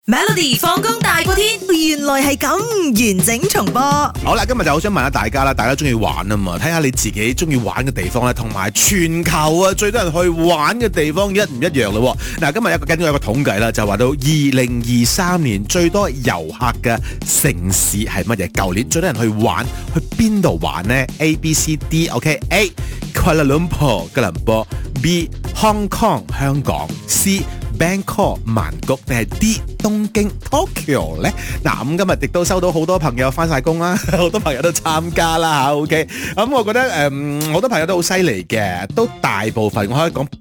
Melody 放工大過天，原來係咁完整重播。 好啦，今日就好想問下大家啦，大家中意玩啊嘛？睇下你自己中意玩嘅地方咧，同埋全球啊最多人去玩嘅地方一唔一樣咯？嗱，今日根據有個統計啦，就話到2023年最多遊客嘅城市係乜嘢？舊年最多人去玩，去邊度玩呢？ A、B、C、D，OK？A. Kuala Lumpur 吉隆坡 ，B. Hong Kong 香港 ，C. Bangkok 曼谷定係 D 東京 Tokyo 咧？嗱，咁今日亦都收到好多朋友翻晒工啦，好多朋友都參加啦嚇。OK，咁我覺得好多朋友都好犀利嘅，都大部分我可以講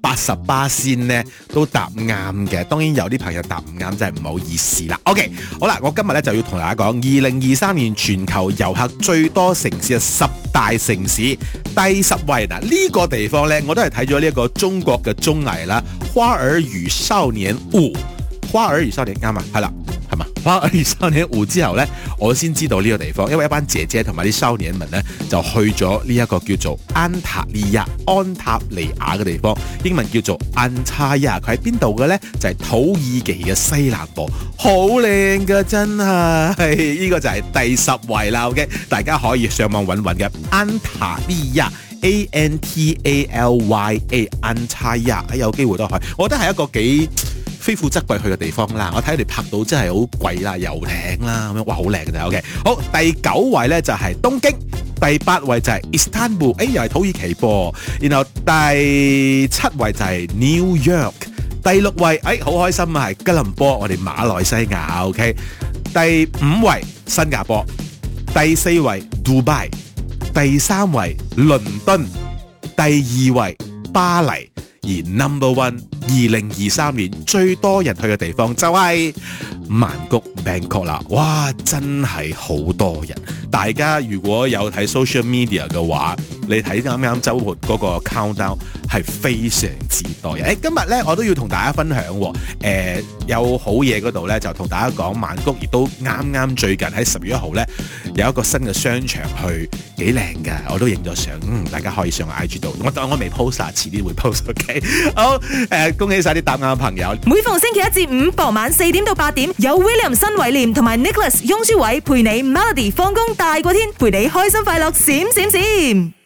80%咧都答啱嘅。當然有啲朋友答唔啱，真係唔好意思啦。OK， 好啦，我今日咧就要同大家講2023年全球遊客最多城市嘅10大城市，第10位嗱呢個地方咧，我都係睇咗呢一個中國嘅綜藝啦，《花兒與少年5》，花兒與少年啱啊，係啦，係嘛？花兒與少年5之後呢，我先知道呢個地方，因為一班姐姐同埋啲少年們呢，就去咗呢一個叫做安塔利亞安塔利亞嘅地方，英文叫做安塔亞。佢喺邊度嘅呢？就係土耳其嘅西南部，好靚㗎真係。呢個就係第10位啦。OK， 大家可以上網揾嘅安塔利亞。Antalya 安塔亞，有機會都去，我覺得係一個幾非富則貴去嘅地方啦。我睇佢哋拍到真係好貴啦，遊艇啦咁樣，哇好靚嘅。OK， 好，第9位呢就係東京，第8位就係 Istanbul， 又係土耳其噃。然後第7位就係 New York， 第6位好開心啊，係吉隆坡，我哋馬來西亞。OK， 第5位新加坡，第4位 Dubai，第3位倫敦，第2位巴黎，而 number one 2023年最多人去嘅地方就係曼谷 Bangkok 啦。哇，真係好多人！大家如果有睇 social media 嘅話，你睇啱啱週末嗰個 countdown 係非常之多人。今日咧我都要同大家分享有好嘢嗰度咧，就同大家講曼谷亦都啱最近喺10月1號咧有一個新嘅商場去，幾靚㗎，我都影咗相，大家可以上 IG 度。我未 post 啊，遲啲會 post。OK， 好，恭喜晒啲答啱嘅朋友。 每逢星期1至5傍晚4點到8點，有 William 新偉廉同埋 Nicholas 雍舒偉陪你 Melody 放工大過天，陪你開心快樂閃閃閃。